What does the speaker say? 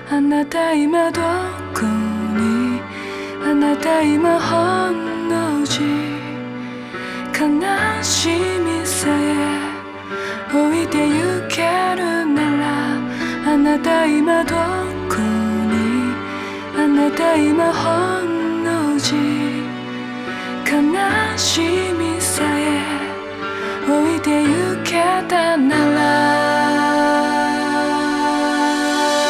あなた今どこに、あなた今ほんの字、悲しみさえ置いてゆけるなら、あなた今どこに、あなた今ほんの字、悲し